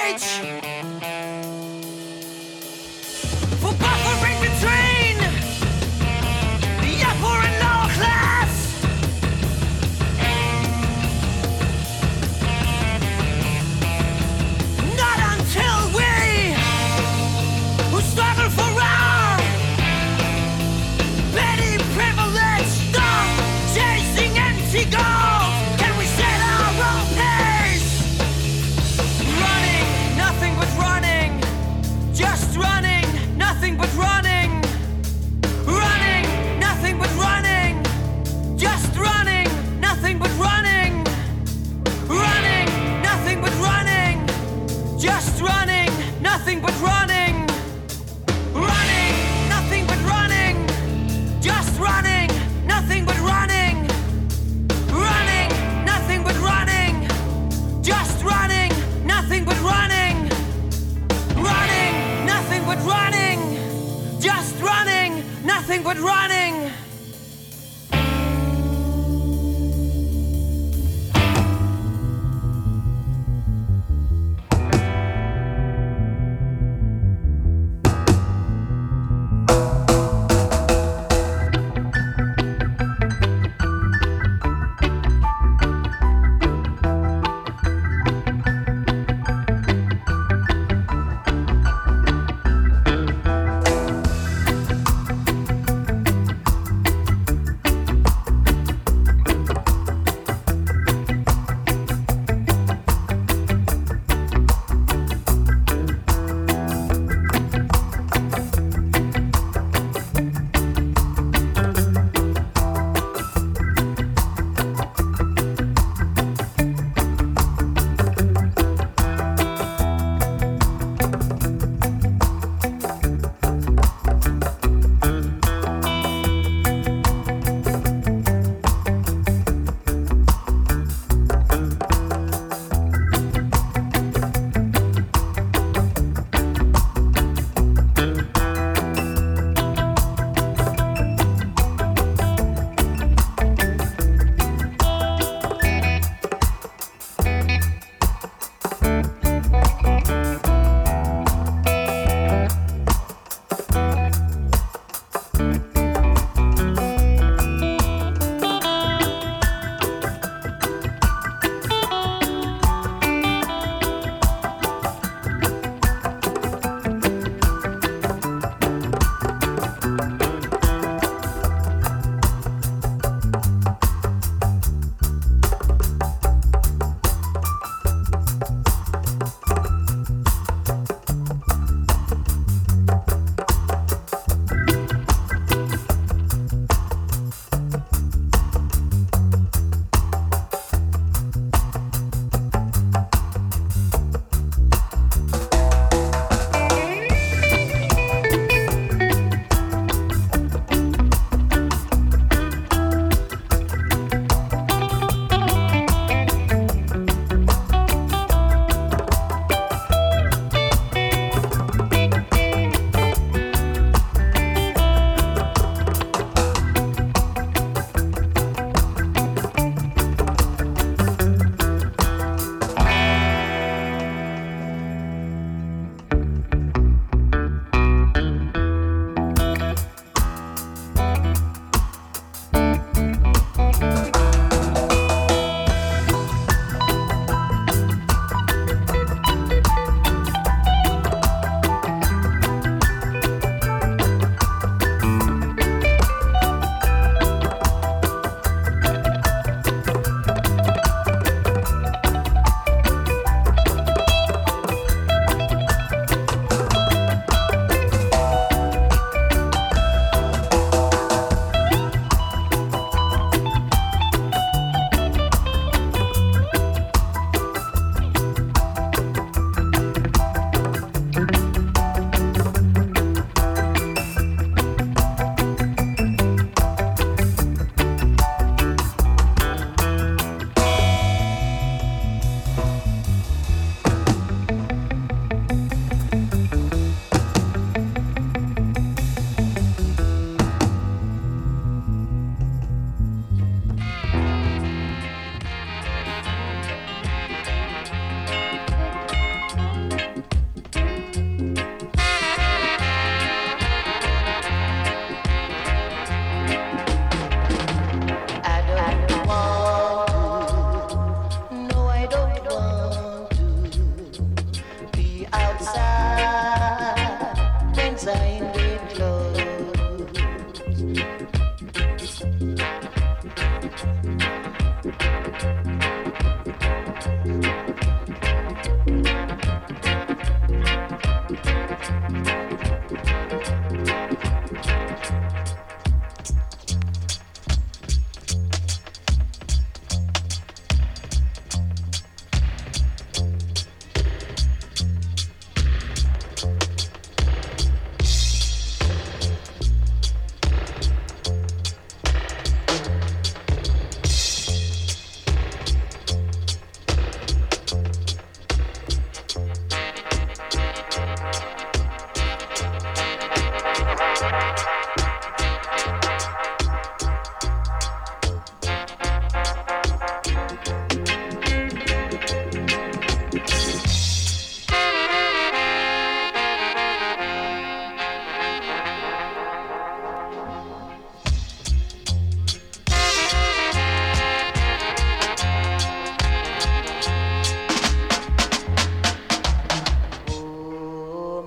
privilege, for buffering between the upper and lower class. Not until we who struggle for our petty privilege stop chasing empty goals. Can we set our own pace? Running, nothing but running. Just running, nothing but running. Running, nothing but running. Just running, nothing but running. Running, nothing but running. Just running, nothing but running. Running, nothing but running. Just running, nothing but running. Running, nothing but running. Just running, nothing but running. Running, nothing but running. Just running, nothing but running.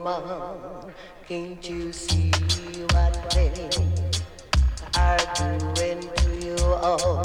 woman, can't you see what they are doing to you all?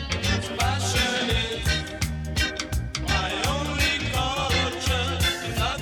My only culture is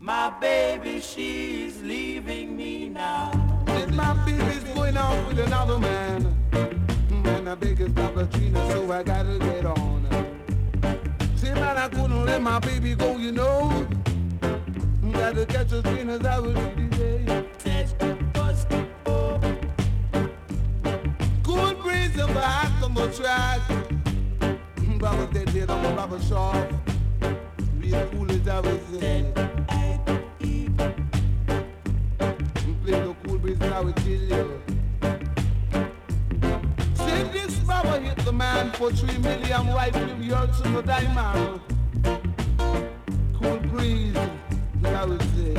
My baby, she's leaving me now. If my baby's going out with another man, and I beg is Papa Trina, so I gotta get on. See, man, I couldn't let my baby go, you know. Gotta catch a train as I was today. Good breeze of back on the track. Brother dead dead on the rubber shop. Real cool as I was there. Play the cool breeze and I will kill you. Say this Baba hit the man for 3 million white yards in the diamond. Cool breeze, as I would say.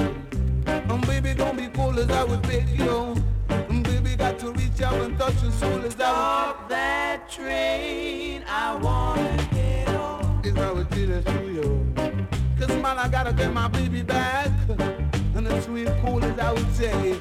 Baby, don't be cold as I would beg you. Baby, got to reach out and touch your soul as I would. Stop that train, I wanna get on. As I would tell it to you. Cause man, I gotta get my baby back. And it's real cool as I would say.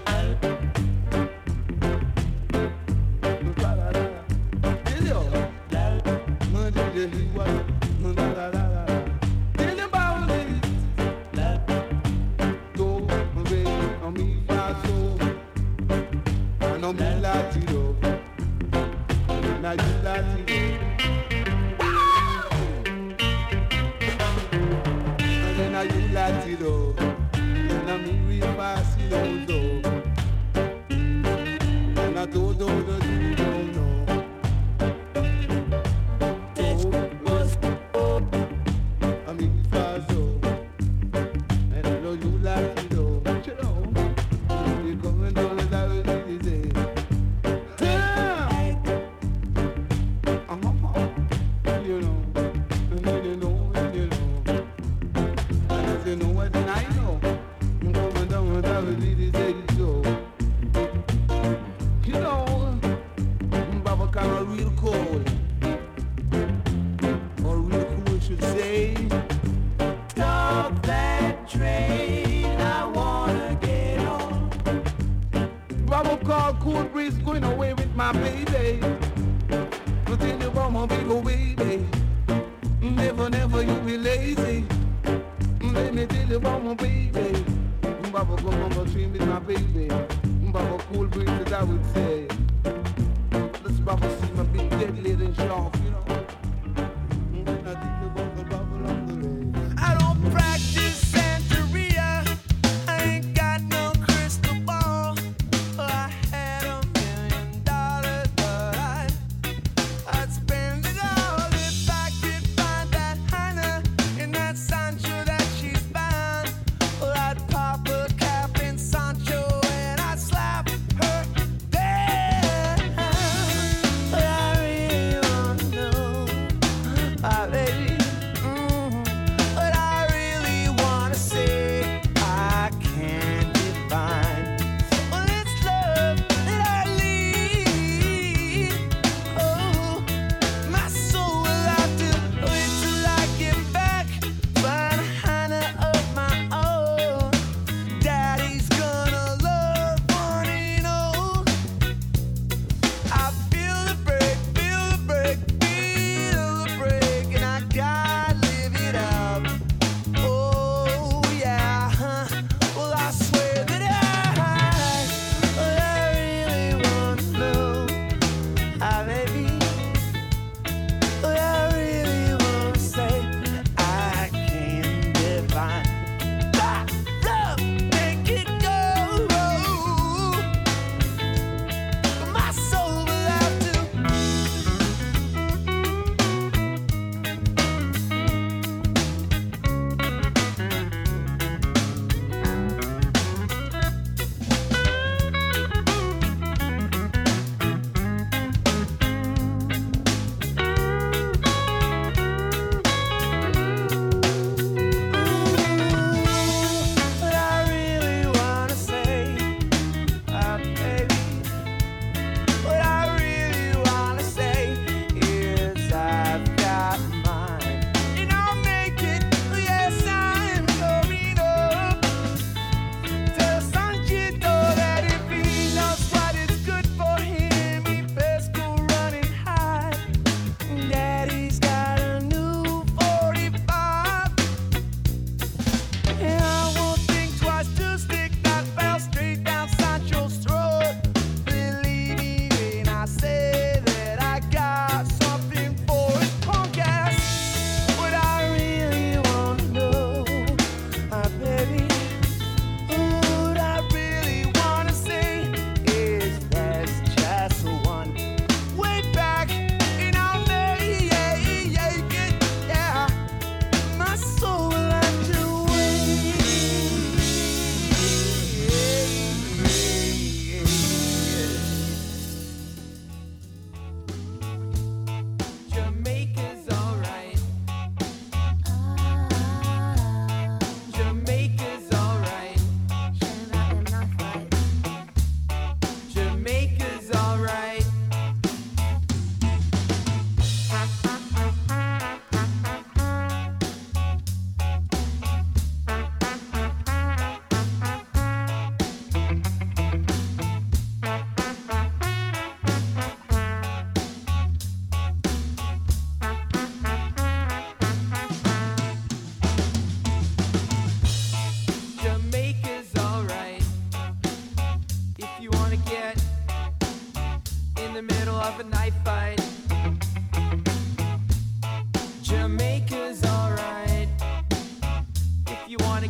Yeah.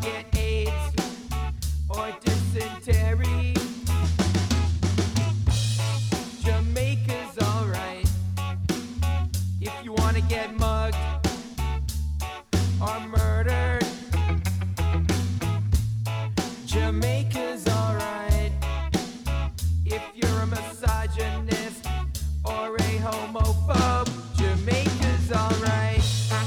get AIDS or dysentery, Jamaica's alright. If you wanna get mugged or murdered, Jamaica's alright. If you're a misogynist or a homophobe, Jamaica's alright.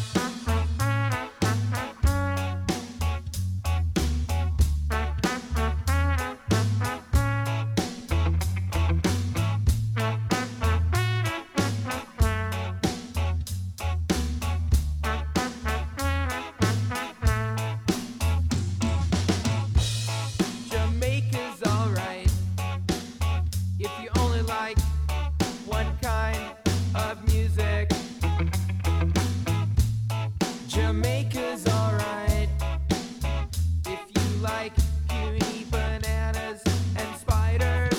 Jamaica's alright. If you only like one kind of music, Jamaica's alright. If you like puny bananas and spiders,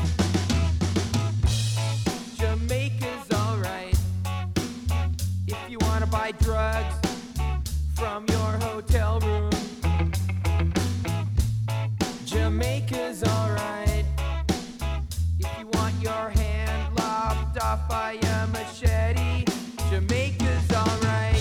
Jamaica's alright. If you wanna buy drugs from your hotel room, Jamaica's alright. If you want your hand lopped off by a machete, Jamaica's alright.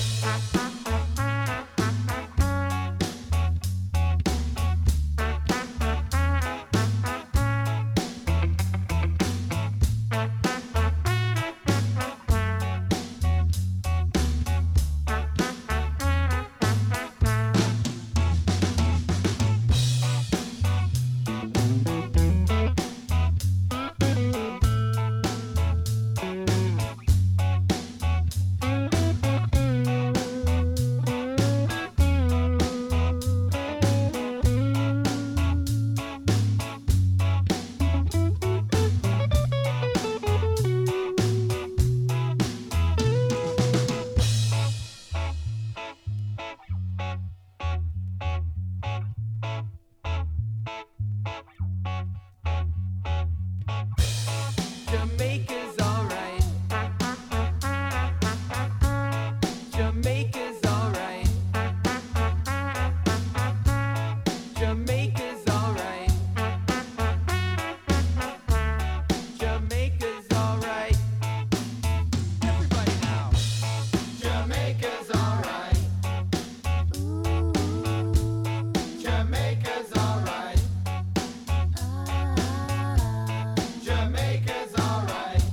Jamaica's alright. Jamaica's alright. Jamaica's alright. Jamaica's alright. Everybody now. Jamaica's alright. Jamaica's alright. Jamaica's alright.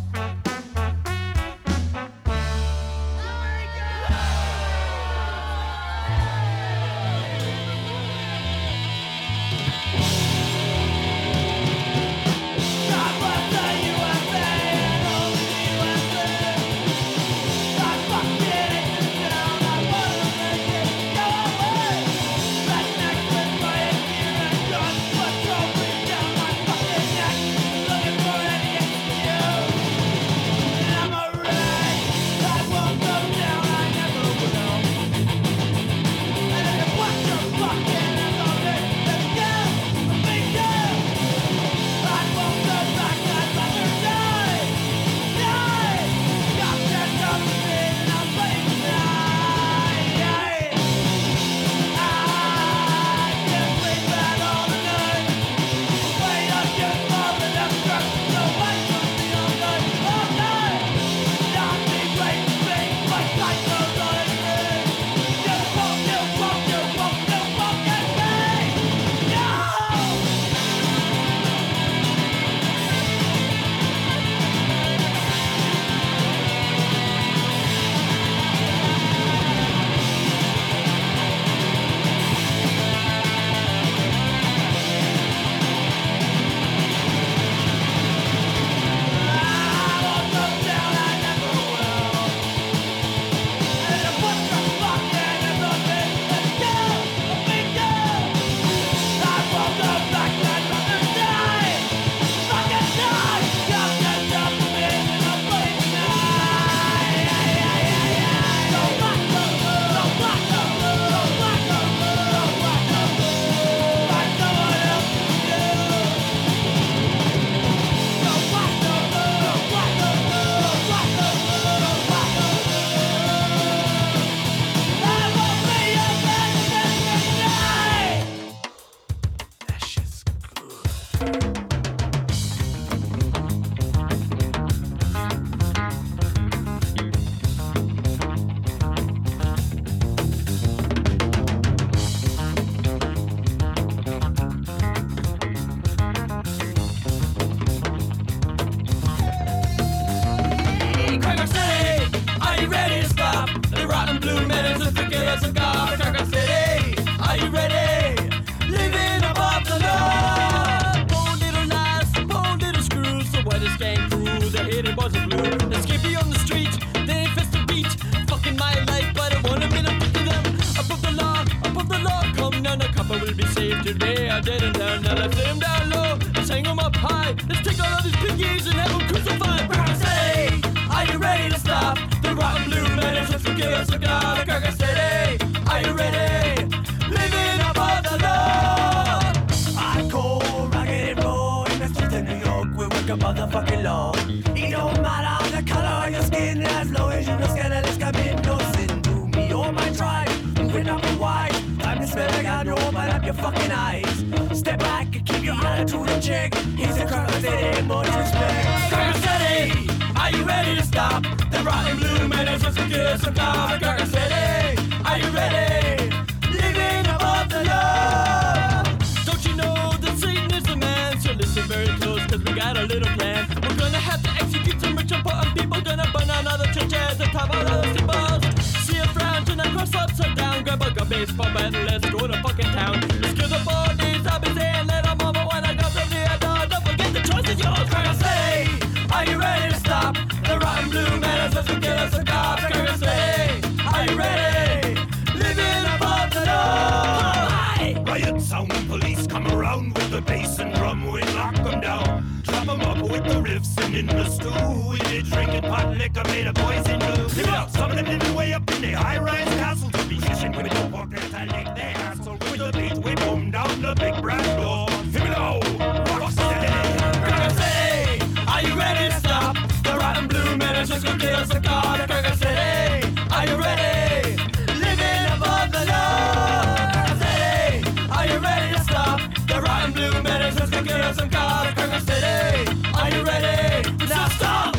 rapper will be saved today. I didn't turn the left him down low. Let's hang him up high. Let's take all of his piggies and have him crucified. Cracker City, are you ready to stop the rotten blue menace of kill cigar? Cracker City, are you ready? Living above the law. Hardcore, rugged and raw. In the streets of New York, we work a motherfucking law. It don't matter the color of your skin, as long as you no scandalous commit no sin to me or my tribe. Moving up and wide, time to smell like I know, open up your fucking eyes. Step back and keep your attitude in check. He's a Cracker City, more respect. Cracker City, are you ready to stop the rotten blue menace of kill cigar? Cracker City, are you ready? Living above the law. Don't you know that Satan is the man? So listen very close, cause we got a little plan. We're gonna have to execute some rich important people. Gonna burn down all the churches and top all the symbols. See a frown, turn that cross upside down. Grab a baseball bat and let's go to fucking town. Let's kill the bodies, I'll be saying let them over when I go to the door. Don't forget the choice is yours. Cracker City, are you ready to stop the rotten blue menace as we kill us a cop? Cracker City, are you ready? Living above the law. Riot sound when police come around with the bass and drum, we lock them down. Drop them up with the riffs and in the stew. We did drinking pot liquor made of poison blue. Give it up, some of them living way up in the high-rise castles. To be fishing with the pockets and lick their asshole. With the beat we boom down the big brass door. Here we go, rock steady. Cracker City, are you ready to stop the rotten blue menace just gonna kill us a car? Cracker City, are you ready? Living above the law. Cracker City, are you ready to stop the rotten blue menace just gonna kill us a car? Cracker City, are you ready? Now stop.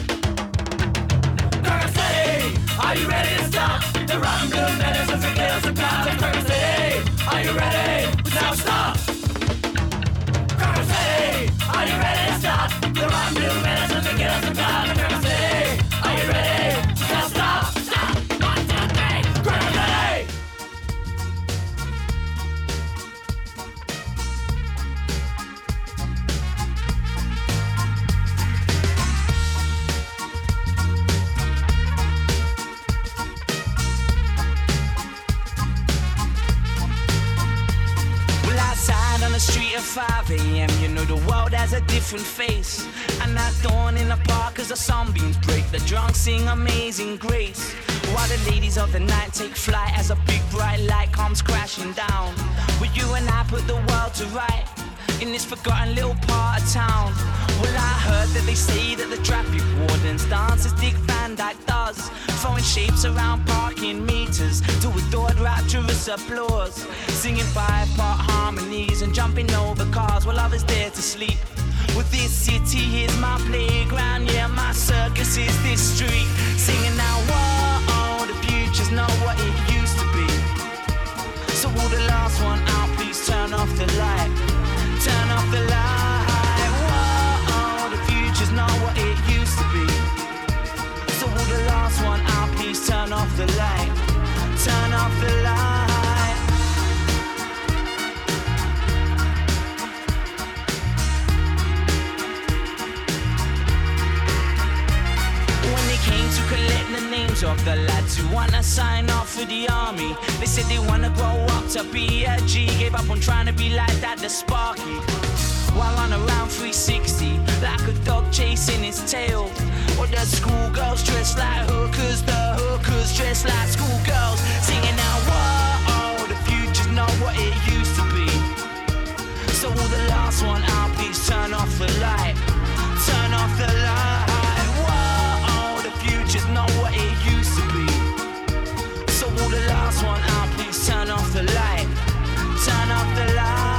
Cracker City, are you ready to stop the rotten blue menace just gonna kill us a car? Cracker City, are you ready? Now stop. Cracker City, are you ready to stop the rotten blue menace just gonna kill us a car? Cracker City, are you ready? Now stop. Stop. 1, 2, 3. Cracker City. On the street at 5 a.m. You know the world has a different face. And that dawn in the park as the sunbeams break. The drunk sing Amazing Grace, while the ladies of the night take flight as a big bright light comes crashing down. Will you and I put the world to right in this forgotten little part of town? Well, I heard that they say that the traffic wardens dance as Dick Van Dyke does, throwing shapes around parking meters to adored rapturous applause, singing 5-part harmonies and jumping over cars while others dare to sleep. Well, this city is my playground, yeah, my circus is this street, singing now, whoa, the future's not what it used to be. So will the last one out please turn off the light, turn off the light. Whoa, the future's not what it used to be. So will the last one out please turn off the light, turn off the light. When they came to collect the names of the lads who wanna sign off for the army, they said they wanna grow up to be a G. Gave up on trying to be like that, the Sparky. While on around 360, like a dog chasing its tail. Or the schoolgirls dressed like hookers, the hookers dressed like schoolgirls, singing now, whoa, the future's not what it used to be. So will the last one out please turn off the light, turn off the light. Whoa, the future's not what it used to be. So will the last one out please turn off the light, turn off the light.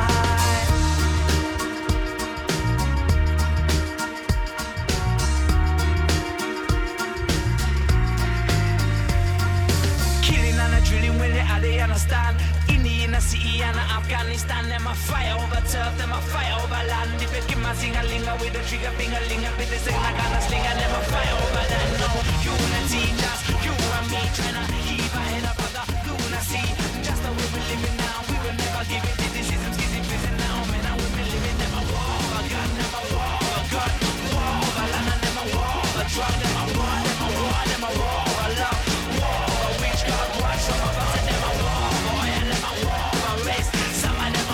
Drilling when they understand. In the inner city and Afghanistan, them a fight over turf, them a fight over land. If you give my sing-a-linga with a trigger finger-linga, bit the sing like a slinger, them a fight over that. No, you wanna teach us, you and me tryna keep our head up, brother. You wanna see just the way we living now. We will never give it. This is some skizzy prison now, man. I will be living them a war, a gun, them a war, a gun, war, a land, and them a war, a drug, them a war, them a war, them a war, a love. Some of us and them a war, boy, and them a war, a race. Some of them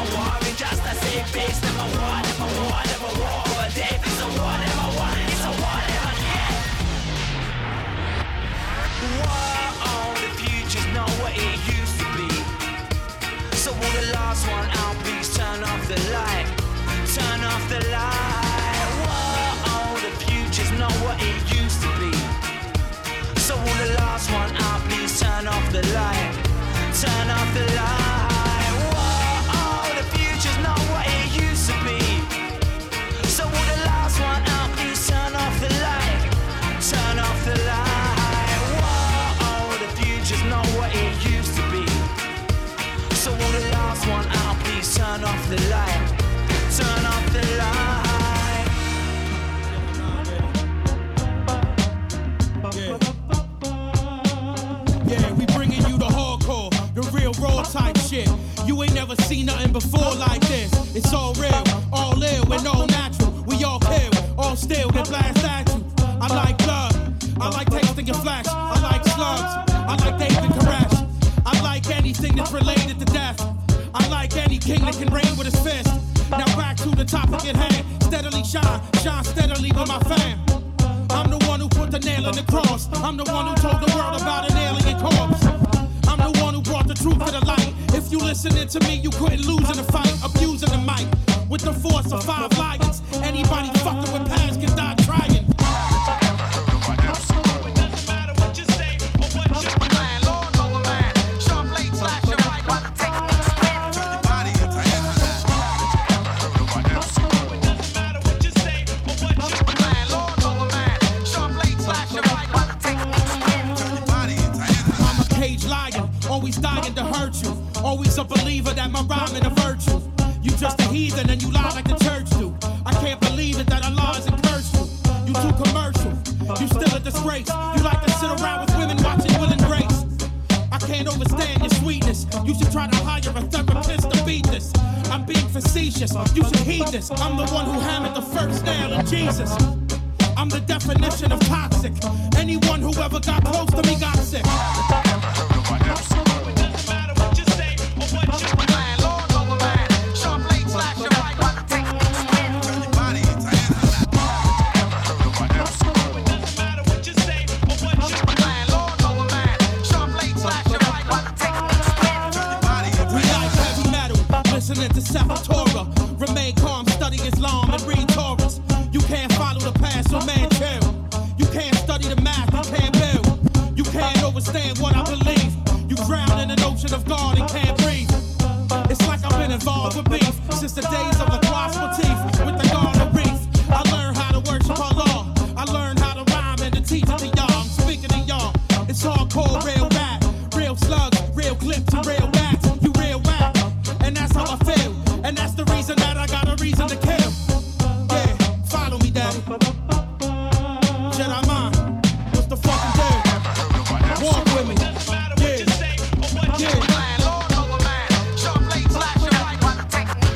last one out, please turn off the light. Turn off the light. Whoa, the future's not what it used to be. So will the last one out, please turn off the light. Turn off the light. Whoa, the future's not what it used to be. So will the last one out, please turn off the light. Turn off the light. Whoa, the future's not what it used to be. So will the last one out, please turn off the light. Turn off the light. Yeah, we bringing you the hardcore, the real raw type shit. You ain't never seen nothing before like this. It's all real, all ill, and all natural. We all kill, all still, then blast at you. I like blood, I like tasting your flesh. I like slugs, I like David Koresh. I like anything that's related to death. I like any king that can reign with his fist. Now back to the topic at hand. Steadily shine, shine steadily with my fam. I'm the one who put the nail in the cross. I'm the one who told the world about an alien corpse. I'm the one who brought the truth to the light. If you listening to me, you couldn't lose in a fight. Abusing the mic with the force of 5 lions. Anybody fucking with past can die trying. Always dying to hurt you. Always a believer that my rhyming a virtue. You just a heathen and you lie like the church do. I can't believe it that Allah hasn't cursed you. You too commercial. You still a disgrace. You like to sit around with women watching Will and Grace. I can't overstand your sweetness. You should try to hire a therapist to beat this. I'm being facetious. You should heed this. I'm the one who hammered the first nail in Jesus. I'm the definition of toxic. Anyone who ever got close to me got sick. Listening to Sepultura, remain calm, study Islam and read Taurus. You can't follow the past, so man chill. You can't study the math, you can't build. You can't understand what I believe. You drown in an ocean of God and can't breathe. It's like I've been involved with beef since the days of the gospel teeth with the garden reef. I learned how to worship Allah. I learned how to rhyme and to teach it to y'all. I'm speaking to y'all. It's hardcore, real rap, real slugs, real clips, and real bats. You real rap. And that's how I feel. And that's the reason that I got a reason to kill. Yeah, follow me, daddy. Jedi mind, what's the fucking deal? Walk with me. Yeah, yeah.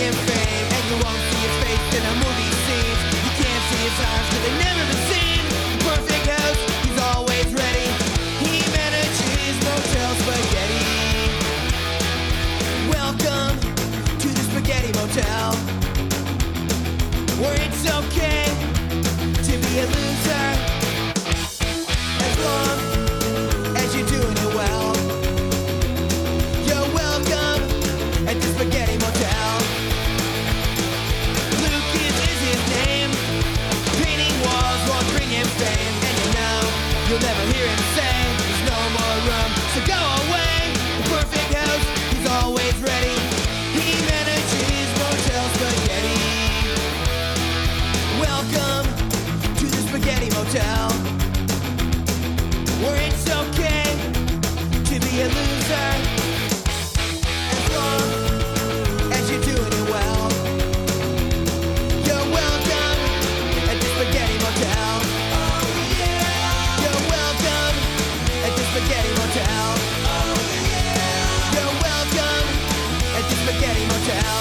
bringing fame, and you won't see his face in a movie scene. You can't see his eyes 'cause they've never been seen. Perfect house, he's always ready. He manages Motel Spaghetti. Welcome to the Spaghetti Motel, where it's okay to be a loser as long as you're doing it well. You're welcome at the Spaghetti Motel. Lucas is his name. Painting walls won't bring him fame, and you know you'll never hear him say there's no more room, so go away. The perfect house, he's always ready. He manages Motel Spaghetti. Welcome to the Spaghetti Motel, where it's okay to be a loser as long as you're doing it well. You're welcome at the Spaghetti Motel. Oh yeah. You're welcome at the Spaghetti Motel. Oh yeah. You're welcome at the Spaghetti Motel.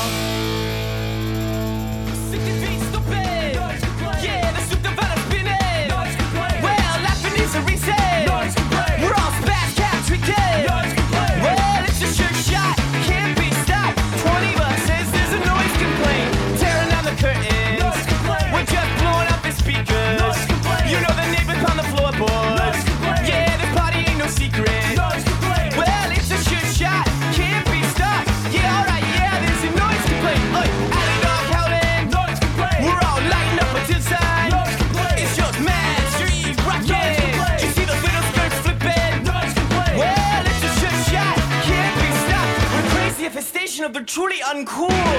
Yeah, the soup developed spinning. Well, laughing is a reason. We're all spaz cats, we did. Well, it's a sure shot, can't be stopped. 20 bucks says there's a noise complaint. Tearing down the curtains. We're just blowing up the speakers. You know the neighbors on the floorboards. Yeah, this party ain't no secret. Well, it's a sure shot, can't be stopped. Yeah, alright, yeah, there's a noise complaint. Alley dog howling. We're all lighting up until time. It's just mad street rocking. You see those little skirts flipping? Well, it's a sure shot, can't be stopped. We're crazy infestation of the truly uncool.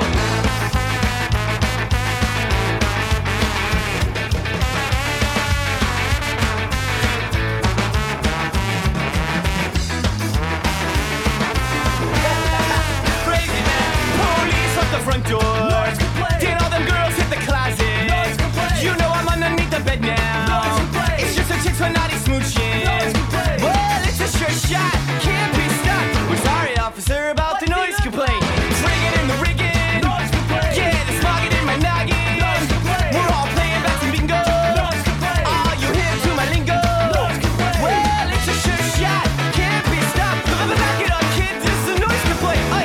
Crazy man. Police at the front door. Did all them girls hit the closet? You know I'm underneath the bed now. It's just a chick for naughty smooching. Well, it's a sure shot, can't be stopped. We're sorry, officer, about the noise complaint. Rigging in the rigging. Yeah, the smogging in my noggin. We're all playing back some bingo. Are you hip to my lingo? Well, it's a sure shot, can't be stopped. Back it up, kid, this is a noise complaint. Aye.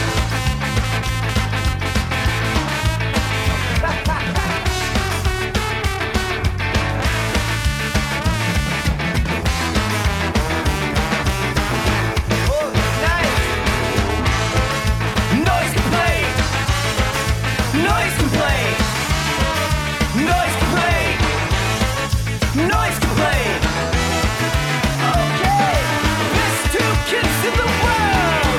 Noise complaint. Noise complaint. Noise complaint. Noise complaint. Okay, best two kids in the world.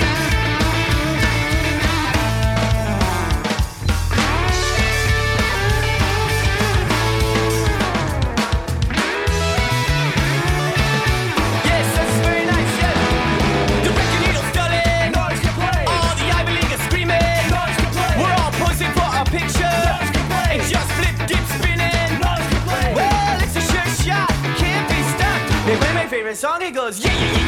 Yes, that's very nice, yes. The record needle's dulling. All the Ivy League are screaming. We're all posing for a picture. It just flip, dip, spinning. Well, it's a sure shot, can't be stopped. They play my favorite song, it goes yeah, yeah, yeah.